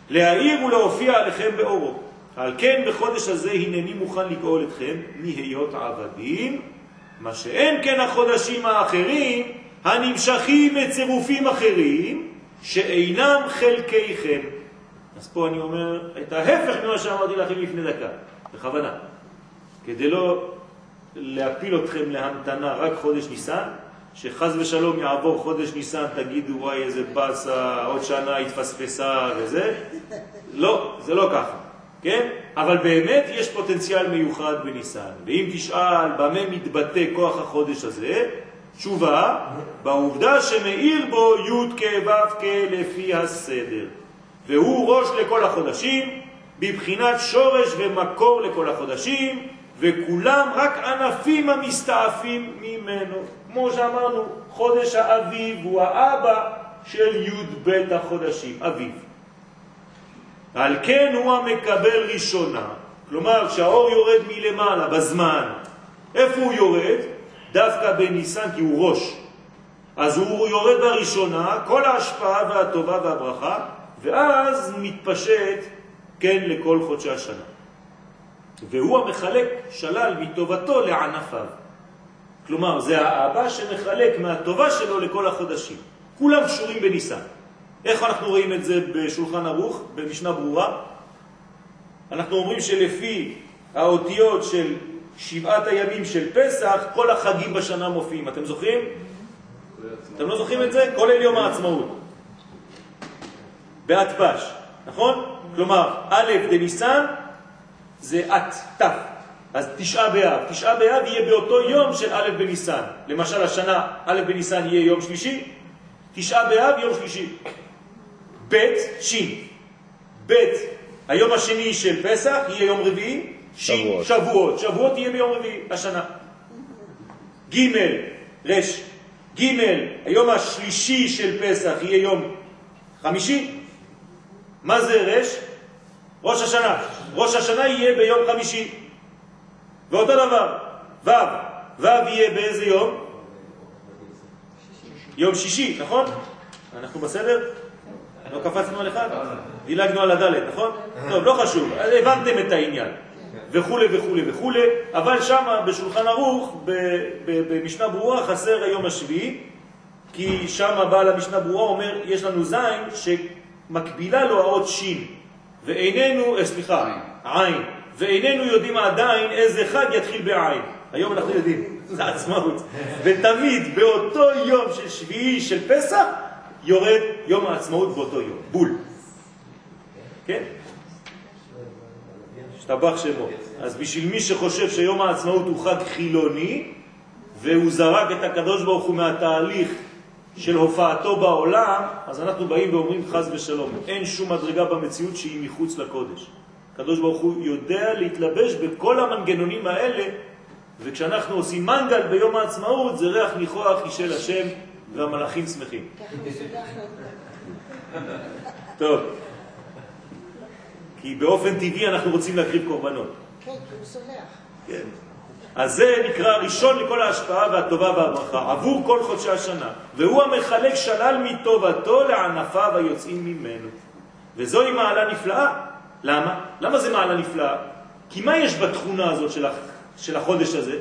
להאיר ולהופיע עליכם באורו. על כן בחודש הזה הנני מוכן לגאול אתכם מהיות עבדים, מה שאין כן החודשים האחרים הנמשכים לצירופים אחרים שאינם חלקיכם. אז פה אני אומר את ההפך ממה שאמרתי לכם לפני דקה, בכוונה, כדי לא להפיל אתכם להמתנה רק חודש ניסן, שחז ושלום יעבור חודש ניסן, תגידו וואי איזה בסה, עוד שנה התפספסה וזה. לא, זה לא ככה, כן? אבל באמת יש פוטנציאל מיוחד בניסן. ואם תשאל במה מתבטא כוח החודש הזה, תשובה, בעובדה שמאיר בו י' כ' ו' לפי הסדר. והוא ראש לכל החודשים, בבחינת שורש ומקור לכל החודשים, וכולם רק ענפים המסתעפים ממנו. כמו שאמרנו, חודש האביב הוא האבא של י' ב' החודשים, אביב. על כן הוא המקבל ראשונה, כלומר כשהאור יורד מלמעלה בזמן, איפה הוא יורד? דווקא בניסן, כי הוא ראש. אז הוא יורד בראשונה, כל ההשפעה והטובה והברכה, ואז מתפשט, כן, לכל חודשי השנה. והוא המחלק שלל מטובתו לענפיו. כלומר, זה האבא שמחלק מהטובה שלו לכל החודשים. כולם קשורים בניסן. איך אנחנו רואים את זה בשולחן ערוך, במשנה ברורה? אנחנו אומרים שלפי האותיות של 7 הימים של פסח, כל החגים בשנה מופיעים. אתם זוכרים? אתם לא זוכרים את זה? כולל יום העצמאות. באתפש, נכון? כלומר, א' דניסן זה ת'. אז 9 באב. 9 באב יהיה באותו יום של א' בניסן. למשל, השנה א' בניסן יהיה יום שלישי, 9 באב יום שלישי. ב' שין. ב' היום השני של פסח יהיה יום רביעי, שין שבועות. שבועות יהיה ביום רביעי השנה. ג' רש. ג' היום השלישי של פסח יהיה יום חמישי. מה זה רש? ראש השנה. ראש השנה יהיה ביום חמישי. ואותו דבר, ו' יהיה באיזה יום? יום שישי, נכון? אנחנו בסדר? לא קפצנו על אחד? דילגנו על הדלת, נכון? טוב, לא חשוב, הבנתם את העניין. וכו' וכו' וכו', אבל שמה בשולחן ערוך, במשנה ברורה, חסר היום השביעי, כי שמה בעל המשנה ברורה אומר, יש לנו זין שמקבילה לו האות שין, ואיננו, עין, ואיננו יודעים עדיין איזה חג יתחיל בעין. היום אנחנו יודעים, זה עצמאות. ותמיד באותו יום של שביעי של פסח, יורד יום העצמאות באותו יום, בול. כן? שתבח שמו. אז בשביל מי שחושב שיום העצמאות הוא חג חילוני, והוא זרק את הקדוש ברוך הוא מהתהליך של הופעתו בעולם, אז אנחנו באים ואומרים חז ושלום. אין שום מדרגה במציאות שהיא מחוץ לקודש. הקדוש ברוך הוא יודע להתלבש בכל המנגנונים האלה, וכשאנחנו עושים מנגל ביום העצמאות, זה ריח ניחוח אישל השם והמלאכים שמחים. טוב. כי באופן טבעי אנחנו רוצים להקריב קורבנות. כן, כי הוא סולח. כן. אז זה נקרא ראשון לכל ההשפעה והטובה והברכה, עבור כל חודשי השנה. והוא המחלק שלל מטובתו לענפיו היוצאים ממנו. וזוהי מעלה נפלאה. למה? למה זה מעלה נפלאה? כי מה יש בתכונה הזאת של החודש הזה?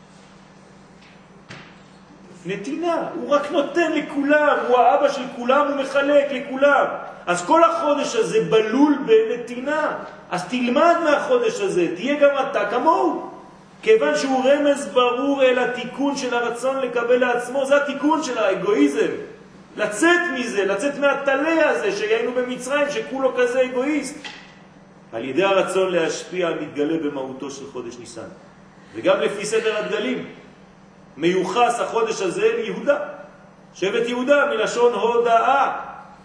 נתינה. הוא רק נותן לכולם, הוא האבא של כולם, הוא מחלק לכולם. אז כל החודש הזה בלול בנתינה. אז תלמד מהחודש הזה, תהיה גם אתה כמוהו. כיוון שהוא רמז ברור אל התיקון של הרצון לקבל לעצמו, זה התיקון של האגואיזם. לצאת מזה, לצאת מהתלה הזה שהיינו במצרים, שכולו כזה אגואיסט. על ידי הרצון להשפיע מתגלה במהותו של חודש ניסן. וגם לפי סדר הדגלים, מיוחס החודש הזה ליהודה. שבט יהודה מלשון הודאה.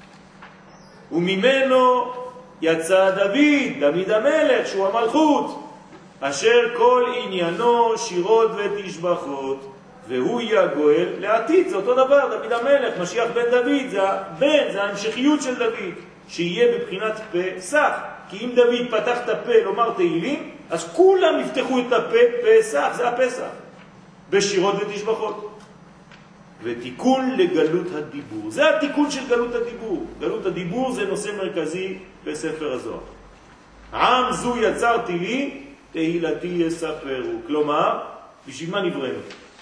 וממנו יצא דוד המלך, שהוא המלכות, אשר כל עניינו שירות ותשבחות, והוא יהיה הגואל לעתיד. זה אותו דבר, דוד המלך, משיח בן דוד, זה הבן, זה ההמשכיות של דוד, שיהיה בבחינת פסח. כי אם דוד פתח את הפה לומר תהילים, אז כולם יפתחו את הפה פסח, זה הפסח, בשירות ותשבחות. ותיקון לגלות הדיבור, זה התיקון של גלות הדיבור. גלות הדיבור זה נושא מרכזי בספר הזוהר. עם זו יצרתי לי, תהילתי יספרו. כלומר, בשביל מה נבראנו?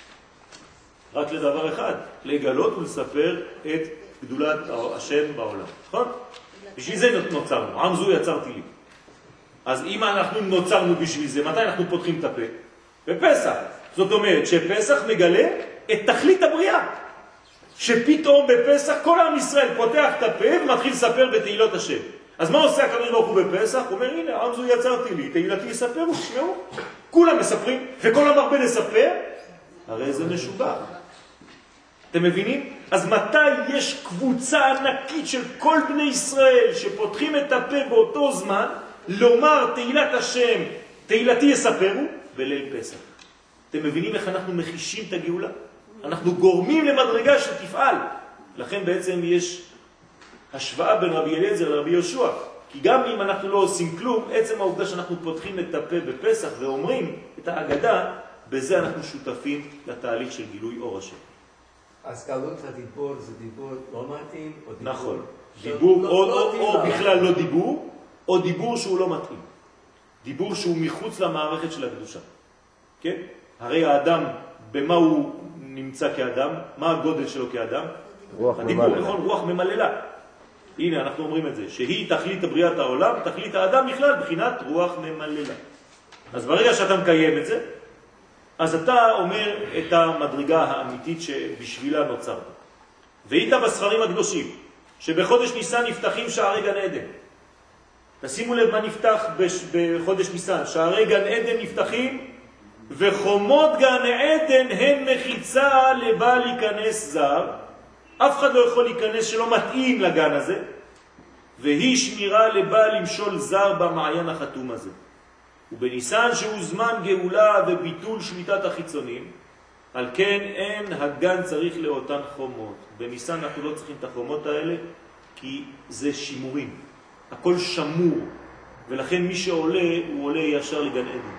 רק לדבר אחד, לגלות ולספר את גדולת השם בעולם. נכון? בשביל זה נוצרנו. עם זו יצרתי לי. אז אם אנחנו נוצרנו בשביל זה, מתי אנחנו פותחים את הפה? בפסח. זאת אומרת שפסח מגלה את תכלית הבריאה. שפתאום בפסח כל עם ישראל פותח את הפה ומתחיל לספר בתהילות השם. אז מה עושה הקדוש ברוך הוא בפסח? הוא אומר, הנה, עם זו יצרתי לי, תהילתי יספרו, תשמעו. כולם מספרים, וכל המרבה לספר, הרי זה משובח. אתם מבינים? אז מתי יש קבוצה ענקית של כל בני ישראל שפותחים את הפה באותו זמן, לומר תהילת השם, תהילתי יספרו, בליל פסח. אתם מבינים איך אנחנו מחישים את הגאולה? אנחנו גורמים למדרגה שתפעל. לכן בעצם יש השוואה בין רבי אליעזר לרבי יהושע. כי גם אם אנחנו לא עושים כלום, עצם העובדה שאנחנו פותחים את הפה בפסח ואומרים את ההגדה, בזה אנחנו שותפים לתהליך של גילוי אור השם. אז קלות הדיבור זה דיבור לא מתאים? נכון. דיבור או בכלל לא דיבור, או דיבור שהוא לא מתאים. דיבור שהוא מחוץ למערכת של הקדושה. כן? הרי האדם, במה הוא נמצא כאדם? מה הגודל שלו כאדם? רוח הדיבור, ממללה. נכון? רוח ממללה. הנה, אנחנו אומרים את זה, שהיא תכלית בריאת העולם, תכלית האדם בכלל, בחינת רוח ממללה. אז ברגע שאתה מקיים את זה, אז אתה אומר את המדרגה האמיתית שבשבילה נוצרת. והיית בספרים הקדושים, שבחודש ניסן נפתחים שערי גן עדן. תשימו לב מה נפתח בחודש ניסן. שערי גן עדן נפתחים, וחומות גן עדן הן מחיצה לבא להיכנס זר. אף אחד לא יכול להיכנס שלא מתאים לגן הזה, והיא שמירה לבא למשול זר במעיין החתום הזה. ובניסן שהוא זמן גאולה וביטול שמיטת החיצונים, על כן אין הגן צריך לאותן חומות. בניסן אנחנו לא צריכים את החומות האלה, כי זה שימורים. הכל שמור, ולכן מי שעולה, הוא עולה ישר לגן עדן.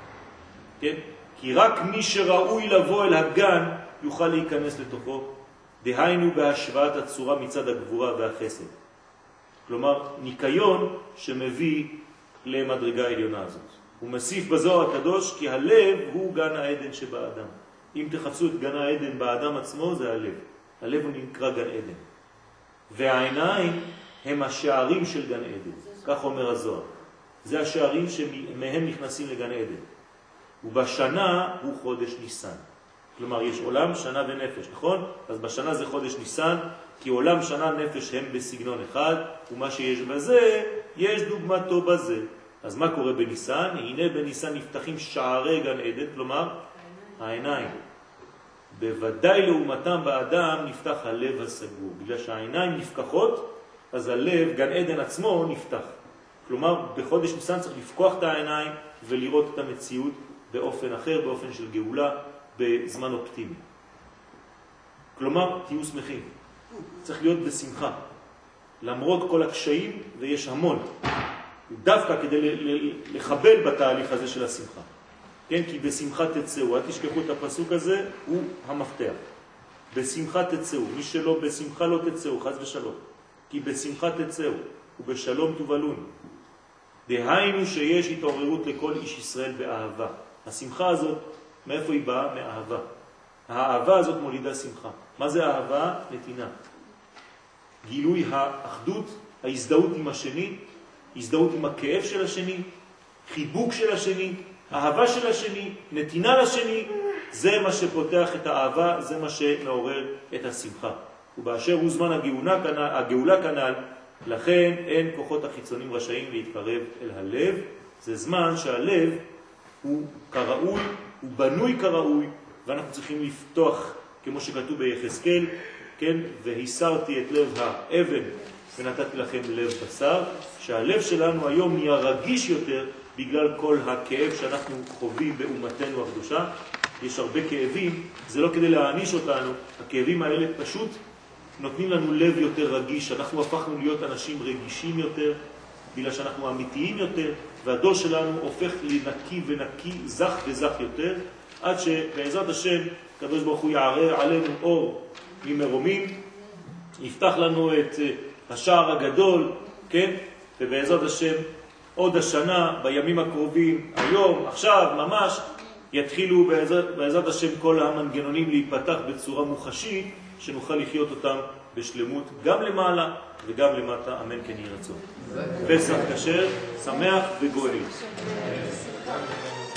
כן? כי רק מי שראוי לבוא אל הגן, יוכל להיכנס לתוכו. דהיינו בהשוואת הצורה מצד הגבורה והחסד. כלומר, ניקיון שמביא למדרגה העליונה הזאת. הוא מוסיף בזוהר הקדוש כי הלב הוא גן העדן שבאדם. אם תחפשו את גן העדן באדם עצמו, זה הלב. הלב הוא נקרא גן עדן. והעיניים הם השערים של גן עדן. כך אומר הזוהר. זה השערים שמהם נכנסים לגן עדן. ובשנה הוא חודש ניסן. כלומר, יש עולם, שנה ונפש, נכון? אז בשנה זה חודש ניסן, כי עולם, שנה, נפש הם בסגנון אחד, ומה שיש בזה, יש דוגמתו בזה. אז מה קורה בניסן? הנה בניסן נפתחים שערי גן עדן, כלומר, העיניים. בוודאי לעומתם באדם נפתח הלב הסגור. בגלל שהעיניים נפקחות, אז הלב, גן עדן עצמו, נפתח. כלומר, בחודש ניסן צריך לפקוח את העיניים ולראות את המציאות באופן אחר, באופן של גאולה, בזמן אופטימי. כלומר, תהיו שמחים. צריך להיות בשמחה. למרות כל הקשיים, ויש המון. דווקא כדי לחבל בתהליך הזה של השמחה. כן? כי בשמחה תצאו. אל תשכחו את הפסוק הזה, הוא המפתח. בשמחה תצאו. מי שלא בשמחה לא תצאו, חס ושלום. כי בשמחה תצאו, ובשלום תובלון. דהיינו שיש התעוררות לכל איש ישראל באהבה. השמחה הזאת, מאיפה היא באה? מאהבה. האהבה הזאת מולידה שמחה. מה זה אהבה? נתינה. גילוי האחדות, ההזדהות עם השני, הזדהות עם הכאב של השני, חיבוק של השני, אהבה של השני, נתינה לשני, זה מה שפותח את האהבה, זה מה שמעורר את השמחה. ובאשר הוא זמן הגאולה כנל, לכן אין כוחות החיצונים רשאים להתקרב אל הלב. זה זמן שהלב הוא כראוי, הוא בנוי כראוי, ואנחנו צריכים לפתוח, כמו שכתוב ביחזקאל, כן? והסרתי את לב האבן ונתתי לכם לב בשר, שהלב שלנו היום נהיה רגיש יותר בגלל כל הכאב שאנחנו חווים באומתנו הקדושה. יש הרבה כאבים, זה לא כדי להעניש אותנו, הכאבים האלה פשוט נותנים לנו לב יותר רגיש, אנחנו הפכנו להיות אנשים רגישים יותר, בגלל שאנחנו אמיתיים יותר, והדור שלנו הופך לנקי ונקי, זך וזך יותר, עד שבעזרת השם, הקדוש ברוך הוא יערר עלינו אור ממרומים, יפתח לנו את השער הגדול, כן? ובעזרת השם עוד השנה, בימים הקרובים, היום, עכשיו, ממש, יתחילו בעזרת השם כל המנגנונים להיפתח בצורה מוחשית, שנוכל לחיות אותם בשלמות, גם למעלה וגם למטה, אמן כן יהי רצון. פסח כשר, שמח וגואל.